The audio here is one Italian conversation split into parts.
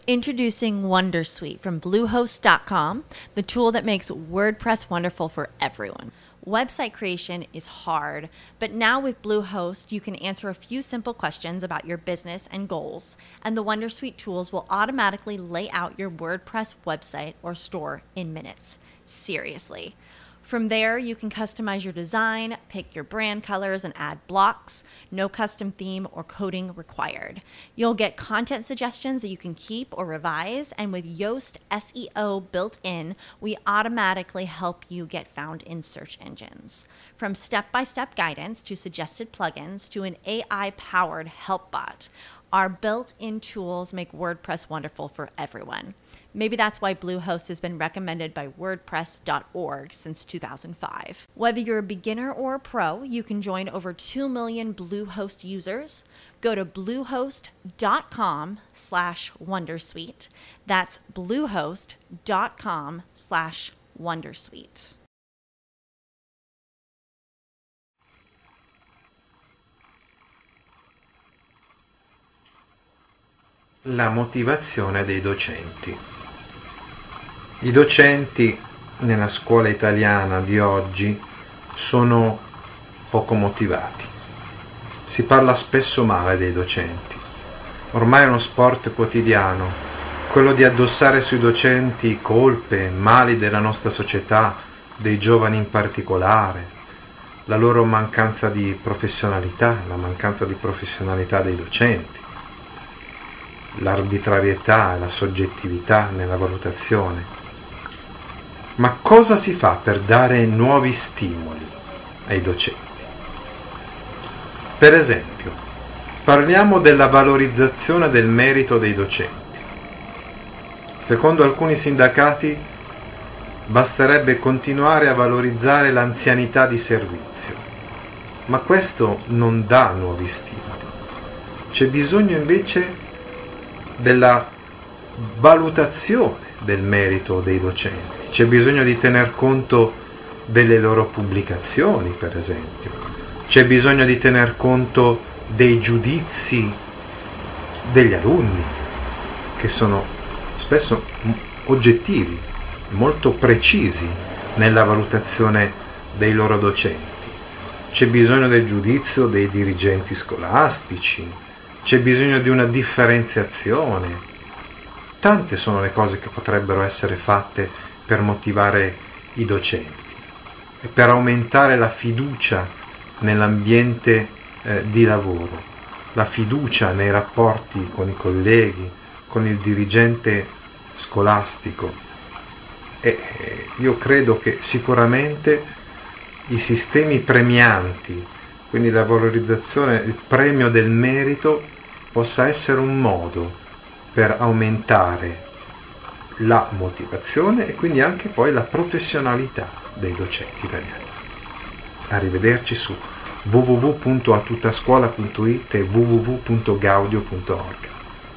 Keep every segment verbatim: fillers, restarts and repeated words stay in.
Introducing Wondersuite from Bluehost dot com, the tool that makes WordPress wonderful for everyone. Website creation is hard, but now with Bluehost, you can answer a few simple questions about your business and goals, and the Wondersuite tools will automatically lay out your WordPress website or store in minutes. Seriously. From there, you can customize your design, pick your brand colors, and add blocks. No custom theme or coding required. You'll get content suggestions that you can keep or revise, and with Yoast S E O built in, we automatically help you get found in search engines. From step-by-step guidance to suggested plugins to an A I-powered help bot, our built-in tools make WordPress wonderful for everyone. Maybe that's why Bluehost has been recommended by WordPress dot org since two thousand five. Whether you're a beginner or a pro, you can join over two million Bluehost users. Go to bluehost dot com slash wondersuite. That's bluehost dot com slash wondersuite. La motivazione dei docenti. I docenti nella scuola italiana di oggi sono poco motivati. Si parla spesso male dei docenti. Ormai è uno sport quotidiano, quello di addossare sui docenti colpe, mali della nostra società, dei giovani in particolare, la loro mancanza di professionalità, la mancanza di professionalità dei docenti, l'arbitrarietà e la soggettività nella valutazione. Ma cosa si fa per dare nuovi stimoli ai docenti? Per esempio, parliamo della valorizzazione del merito dei docenti. Secondo alcuni sindacati, basterebbe continuare a valorizzare l'anzianità di servizio, ma questo non dà nuovi stimoli. C'è bisogno invece della valutazione del merito dei docenti. C'è bisogno di tener conto delle loro pubblicazioni, per esempio. C'è bisogno di tener conto dei giudizi degli alunni, che sono spesso oggettivi, molto precisi nella valutazione dei loro docenti. C'è bisogno del giudizio dei dirigenti scolastici, c'è bisogno di una differenziazione. Tante sono le cose che potrebbero essere fatte per motivare i docenti e per aumentare la fiducia nell'ambiente eh, di lavoro, la fiducia nei rapporti con i colleghi, con il dirigente scolastico. E eh, io credo che sicuramente i sistemi premianti, quindi la valorizzazione, il premio del merito, possa essere un modo per aumentare la motivazione e quindi anche poi la professionalità dei docenti italiani. Arrivederci su w w w punto a tutta scuola punto i t e w w w punto gaudio punto org.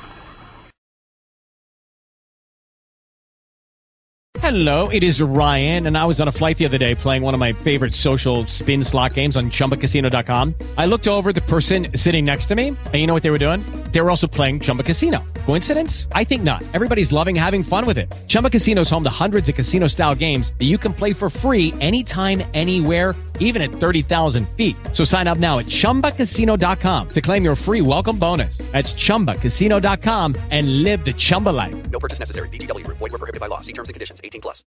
Hello, it is Ryan, and I was on a flight the other day playing one of my favorite social spin slot games on chumba casino dot com. I looked over at the person sitting next to me, and you know what they were doing? They were also playing Chumba Casino. Coincidence? I think not. Everybody's loving having fun with it. Chumba Casino is home to hundreds of casino-style games that you can play for free anytime, anywhere, even at thirty thousand feet. So sign up now at chumba casino dot com to claim your free welcome bonus. That's chumba casino dot com and live the Chumba life. No purchase necessary. V G W. Void where prohibited by law. See terms and conditions. eighteen plus.